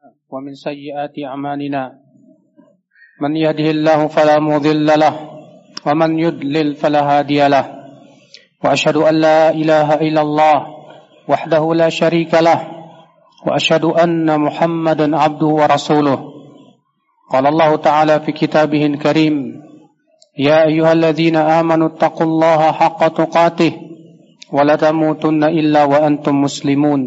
ومن سيئات أعمالنا من يهده الله فلا مضل له ومن يضلل فلا هادي له وأشهد أن لا إله إلا الله وحده لا شريك له وأشهد أن محمدا عبده ورسوله قال الله تعالى في كتابه الكريم يا أيها الذين آمنوا اتقوا الله حق تقاته ولا تموتن إلا وأنتم مسلمون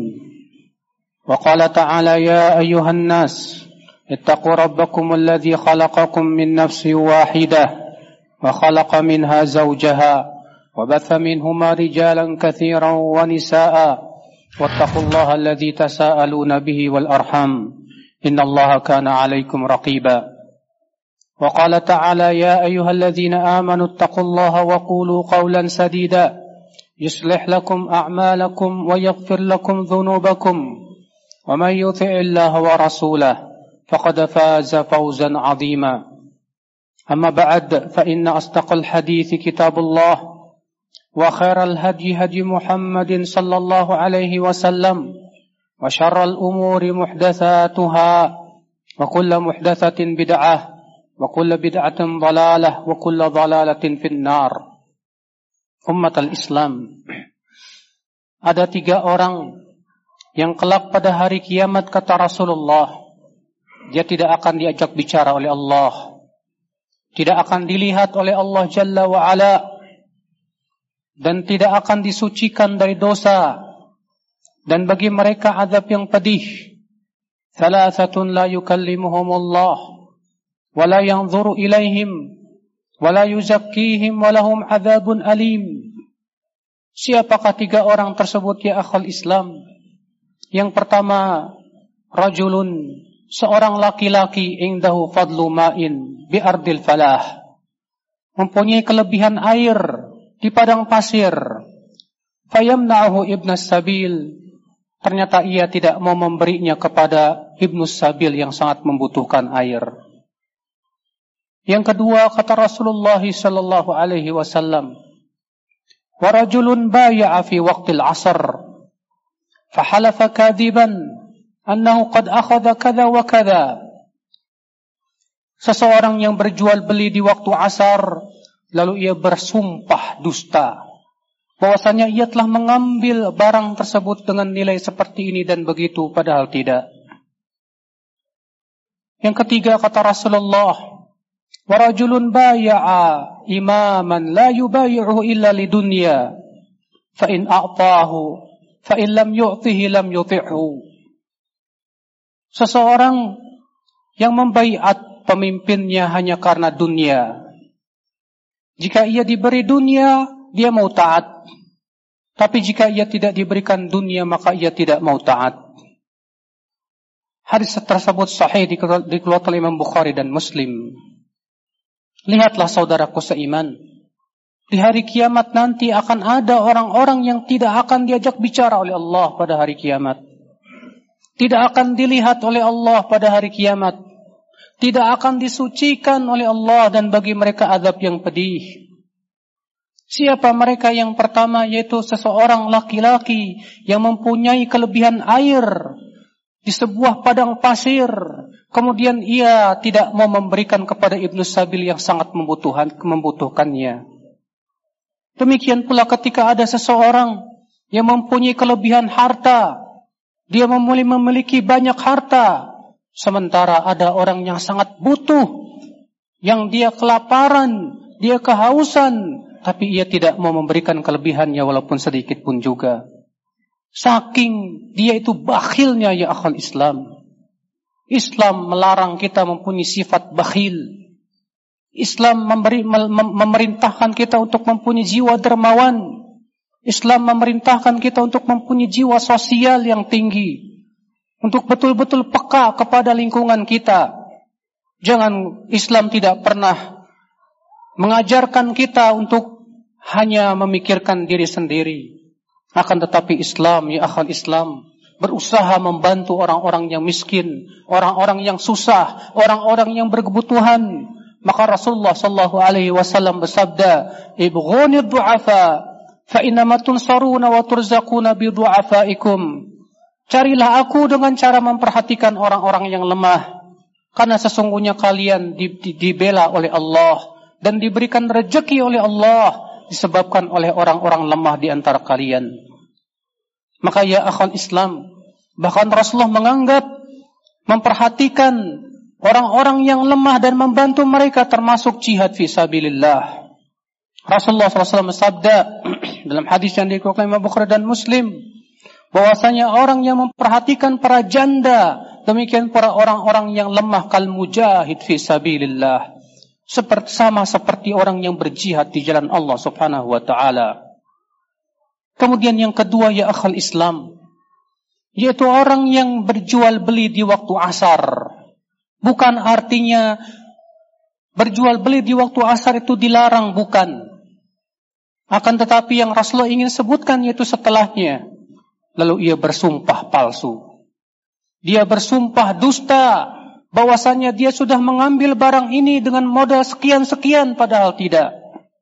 وقال تعالى يا أيها الناس اتقوا ربكم الذي خلقكم من نفس واحدة وخلق منها زوجها وبث منهما رجالا كثيرا ونساء واتقوا الله الذي تساءلون به والأرحام إن الله كان عليكم رقيبا وقال تعالى يا أيها الذين آمنوا اتقوا الله وقولوا قولا سديدا يصلح لكم أعمالكم ويغفر لكم ذنوبكم ومن يطع الله ورسوله فقد فاز فوزا عظيما أما بعد فإن أصدق الحديث كتاب الله وخير الهدي هدي محمد صلى الله عليه وسلم وشر الأمور محدثاتها وكل محدثة بدعة وكل بدعة ضلالة وكل ضلالة في النار. Ummatul Islam, ada 3 orang yang kelak pada hari kiamat kata Rasulullah, dia tidak akan diajak bicara oleh Allah, tidak akan dilihat oleh Allah Jalla wa Ala, dan tidak akan disucikan dari dosa, dan bagi mereka azab yang pedih. Thalathatun la yukallimuhumullah wa la yanzuru ilaihim wa la yuzakkihim wa lahum azabun alim. Siapakah 3 orang tersebut ya akhal Islam? Yang pertama, rajulun, seorang laki-laki indahu fadlu ma'in bi ardil falah, mempunyai kelebihan air di padang pasir. Fayamna'ahu ibnas sabil, ternyata ia tidak mau memberinya kepada ibnus sabil yang sangat membutuhkan air. Yang kedua, kata Rasulullah sallallahu alaihi wasallam, wa rajulun baya'a fi waqtil 'asr fahalafa kadiban annahu qad akhadha kadza wa kadza. Seseorang yang berjual beli di waktu asar, lalu ia bersumpah dusta bahwasanya ia telah mengambil barang tersebut dengan nilai seperti ini dan begitu, padahal tidak. Yang ketiga, kata Rasulullah, wa rajulun baya'a imaman la yubayi'uhu illa lidunya fa in a'tahu fa in lam yu'tihi lam yuti'hu. Seseorang yang membaiat pemimpinnya hanya karena dunia. Jika ia diberi dunia, dia mau taat. Tapi jika ia tidak diberikan dunia, maka ia tidak mau taat. Hadis tersebut sahih dikeluarkan oleh Imam Bukhari dan Muslim. Lihatlah saudaraku seiman, di hari kiamat nanti akan ada orang-orang yang tidak akan diajak bicara oleh Allah pada hari kiamat. Tidak akan dilihat oleh Allah pada hari kiamat. Tidak akan disucikan oleh Allah, dan bagi mereka azab yang pedih. Siapa mereka? Yang pertama yaitu seseorang laki-laki yang mempunyai kelebihan air di sebuah padang pasir. Kemudian ia tidak mau memberikan kepada ibnus sabil yang sangat membutuhkannya. Demikian pula ketika ada seseorang yang mempunyai kelebihan harta, dia memiliki banyak harta, sementara ada orang yang sangat butuh, yang dia kelaparan, dia kehausan, tapi ia tidak mau memberikan kelebihannya walaupun sedikit pun juga. Saking dia itu bakhilnya ya akhal Islam. Islam melarang kita mempunyai sifat bakhil. Islam memerintahkan kita untuk mempunyai jiwa dermawan. Islam memerintahkan kita untuk mempunyai jiwa sosial yang tinggi, untuk betul-betul peka kepada lingkungan kita. Jangan, Islam tidak pernah mengajarkan kita untuk hanya memikirkan diri sendiri. Akan tetapi Islam, ya akhwat Islam, berusaha membantu orang-orang yang miskin, orang-orang yang susah, orang-orang yang berkebutuhan. Maka Rasulullah sallallahu alaihi wasallam bersabda, "Ibghunid du'afa fa innama tunsaruna wa turzaquna bi du'afaikum." Carilah aku dengan cara memperhatikan orang-orang yang lemah. Karena sesungguhnya kalian dibela oleh Allah dan diberikan rezeki oleh Allah disebabkan oleh orang-orang lemah di antara kalian. Maka ya akhwal Islam, bahkan Rasulullah menganggap memperhatikan orang-orang yang lemah dan membantu mereka termasuk jihad fi sabilillah. Rasulullah SAW bersabda dalam hadis yang dikeluarkan Imam Bukhari dan Muslim, bahwasanya orang yang memperhatikan para janda, demikian para orang-orang yang lemah kal mujahid fi sabilillah, sama seperti orang yang berjihad di jalan Allah Subhanahu wa taala. Kemudian yang kedua ya akhal Islam, yaitu orang yang berjual beli di waktu asar. Bukan artinya berjual beli di waktu asar itu dilarang, bukan. Akan tetapi yang Rasulullah ingin sebutkan yaitu setelahnya. Lalu ia bersumpah palsu. Dia bersumpah dusta bahwasanya dia sudah mengambil barang ini dengan modal sekian-sekian, padahal tidak.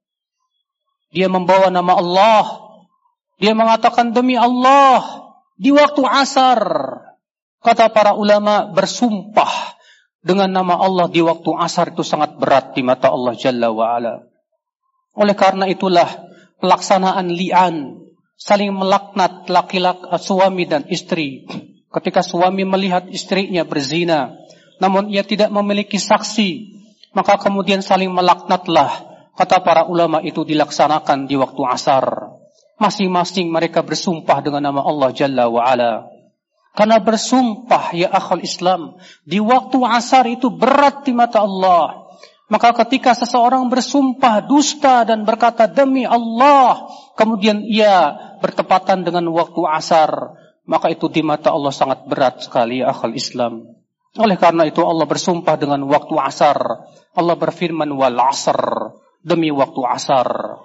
Dia membawa nama Allah. Dia mengatakan demi Allah di waktu asar. Kata para ulama, bersumpah dengan nama Allah di waktu asar itu sangat berat di mata Allah Jalla wa'ala. Oleh karena itulah pelaksanaan li'an, saling melaknat laki-laki suami dan istri. Ketika suami melihat istrinya berzina, namun ia tidak memiliki saksi, maka kemudian saling melaknatlah. Kata para ulama itu dilaksanakan di waktu asar. Masing-masing mereka bersumpah dengan nama Allah Jalla wa'ala. Karena bersumpah ya akhul Islam di waktu asar itu berat di mata Allah. Maka ketika seseorang bersumpah dusta dan berkata demi Allah, kemudian ia bertepatan dengan waktu asar, maka itu di mata Allah sangat berat sekali ya akhul Islam. Oleh karena itu Allah bersumpah dengan waktu asar. Allah berfirman wal asr, demi waktu asar.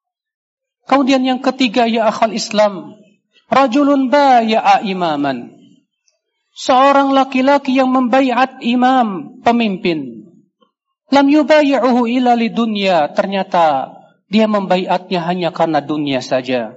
Kemudian yang ketiga ya akhul Islam, rajulun baya'a imaman. Seorang laki-laki yang membaiat imam, pemimpin. Lam yubayi'uhu illa lidunya. Ternyata dia membaiatnya hanya karena dunia saja.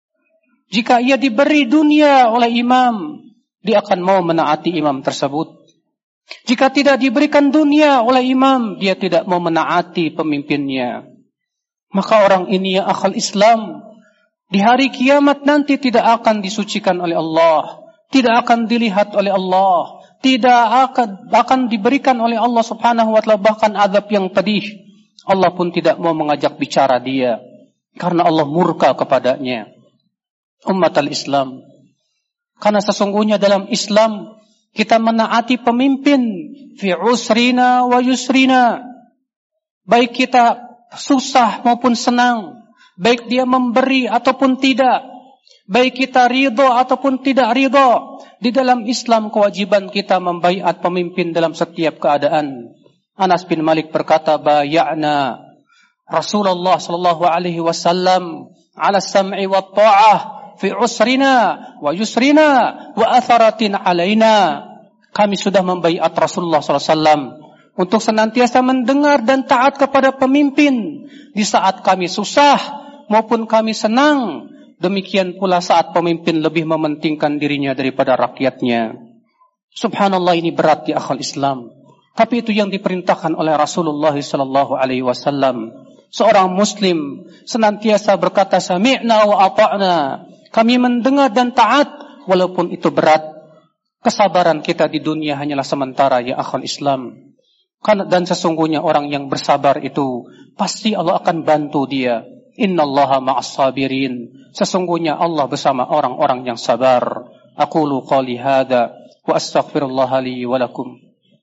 Jika ia diberi dunia oleh imam, dia akan mau menaati imam tersebut. Jika tidak diberikan dunia oleh imam, dia tidak mau menaati pemimpinnya. Maka orang ini ya akhal Islam, di hari kiamat nanti tidak akan disucikan oleh Allah, tidak akan dilihat oleh Allah, tidak akan diberikan oleh Allah Subhanahu wa taala bahkan azab yang pedih. Allah pun tidak mau mengajak bicara dia karena Allah murka kepadanya. Umat al-Islam, karena sesungguhnya dalam Islam kita menaati pemimpin fi usrina wa yusrina. Baik kita susah maupun senang, baik dia memberi ataupun tidak, baik kita ridho ataupun tidak ridho. Di dalam Islam kewajiban kita membaiat pemimpin dalam setiap keadaan. Anas bin Malik berkata, baya'na Rasulullah sallallahu alaihi wasallam ala sam'i wa ta'ah fi usrina wa yusrina wa atharatin alaina. Kami sudah membaiat Rasulullah sallallahu alaihi wasallam untuk senantiasa mendengar dan taat kepada pemimpin di saat kami susah maupun kami senang. Demikian pula saat pemimpin lebih mementingkan dirinya daripada rakyatnya. Subhanallah, ini berat di akhal Islam. Tapi itu yang diperintahkan oleh Rasulullah sallallahu alaihi wasallam. Seorang muslim senantiasa berkata sami'na wa ata'na. Kami mendengar dan taat walaupun itu berat. Kesabaran kita di dunia hanyalah sementara ya akhal Islam. Dan sesungguhnya orang yang bersabar itu pasti Allah akan bantu dia. Innallaha ma'as sabirin. Sesungguhnya Allah bersama orang-orang yang sabar. Aqulu qali hadza wa astaghfirullah li wa lakum.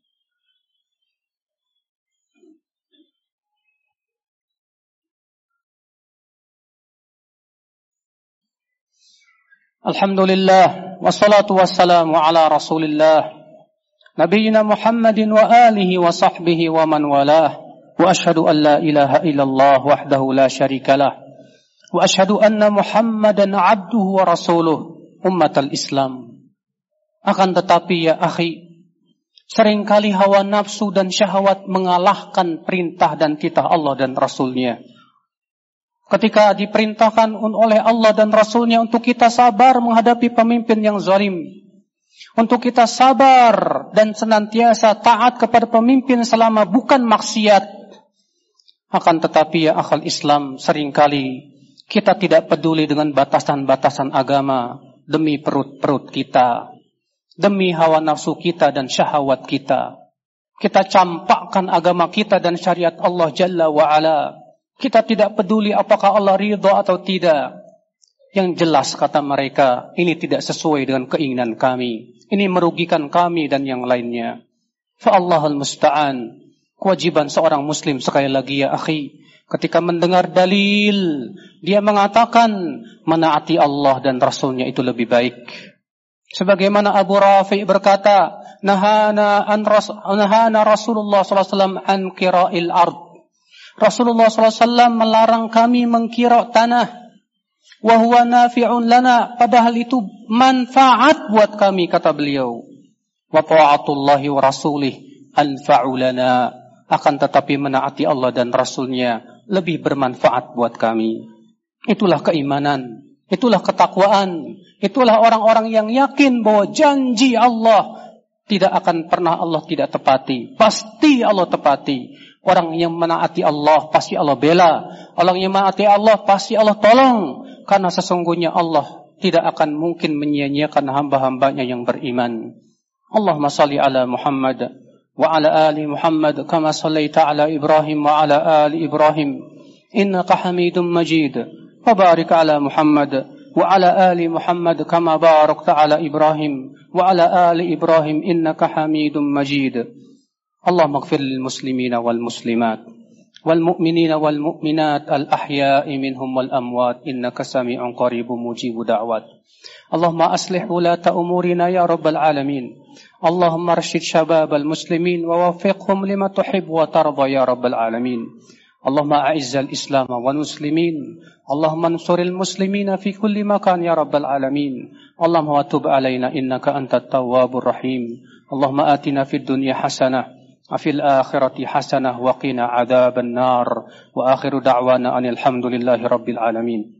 Alhamdulillah wassalatu wassalamu ala Rasulillah Nabiyyina Muhammadin wa alihi wa sahbihi wa man walah. Wa ashhadu an la ilaha illallah wahdahu la syarika lah. Wa ashhadu anna Muhammadan abduhu wa rasuluh. Ummatal Islam. Akan tetapi ya akhi, seringkali hawa nafsu dan syahwat mengalahkan perintah dan titah Allah dan Rasulnya. Ketika diperintahkan oleh Allah dan Rasulnya untuk kita sabar menghadapi pemimpin yang zalim, Untuk kita sabar dan senantiasa taat kepada pemimpin selama bukan maksiat. Akan tetapi ya akhal Islam, seringkali kita tidak peduli dengan batasan-batasan agama demi perut-perut kita, demi hawa nafsu kita dan syahwat kita. Kita campakkan agama kita dan syariat Allah Jalla wa'ala. Kita tidak peduli apakah Allah ridha atau tidak. Yang jelas kata mereka, ini tidak sesuai dengan keinginan kami. Ini merugikan kami dan yang lainnya. Fa'allahul musta'an. Kewajiban seorang muslim sekali lagi ya akhi, ketika mendengar dalil, dia mengatakan menaati Allah dan Rasulnya itu lebih baik. Sebagaimana Abu Rafi berkata, Nahana Rasulullah SAW an qira'il ard. Rasulullah SAW melarang kami mengkira tanah. Wa huwa nafi'un lana, padahal itu manfaat buat kami, kata beliau. Wa ta'atullahi wa rasulih anfa'u lana, akan tetapi menaati Allah dan Rasulnya lebih bermanfaat buat kami. Itulah keimanan, itulah ketakwaan, itulah orang-orang yang yakin bahwa janji Allah tidak akan pernah Allah tidak tepati. Pasti Allah tepati. Orang yang menaati Allah pasti Allah bela. Orang yang menaati Allah pasti Allah tolong. Karena sesungguhnya Allah tidak akan mungkin menyia-nyiakan hamba-hambanya yang beriman. Allahumma salli ala Muhammad wa ala ali Muhammad kama sallaita ala Ibrahim wa ala ali Ibrahim innaka Hamidum Majid. Wa barik ala Muhammad wa ala ali Muhammad kama barakta ala Ibrahim wa ala ali Ibrahim innaka Hamidum Majid. Allahumma ighfir lil muslimina wal muslimat والمؤمنين والمؤمنات الأحياء منهم والأموات إنك سميع قريب مجيب دعوات. اللهم أصلح ولاة أمورنا يا رب العالمين. اللهم ارشد شباب المسلمين ووفقهم لما تحب وترضى يا رب العالمين. اللهم أعز الإسلام والمسلمين. اللهم انصر المسلمين في كل مكان يا رب العالمين. اللهم وتب علينا إنك أنت التواب الرحيم. اللهم آتنا في الدنيا حسنة وفي الآخرة حسنة وقنا عذاب النار وآخر دعوانا أن الحمد لله رب العالمين.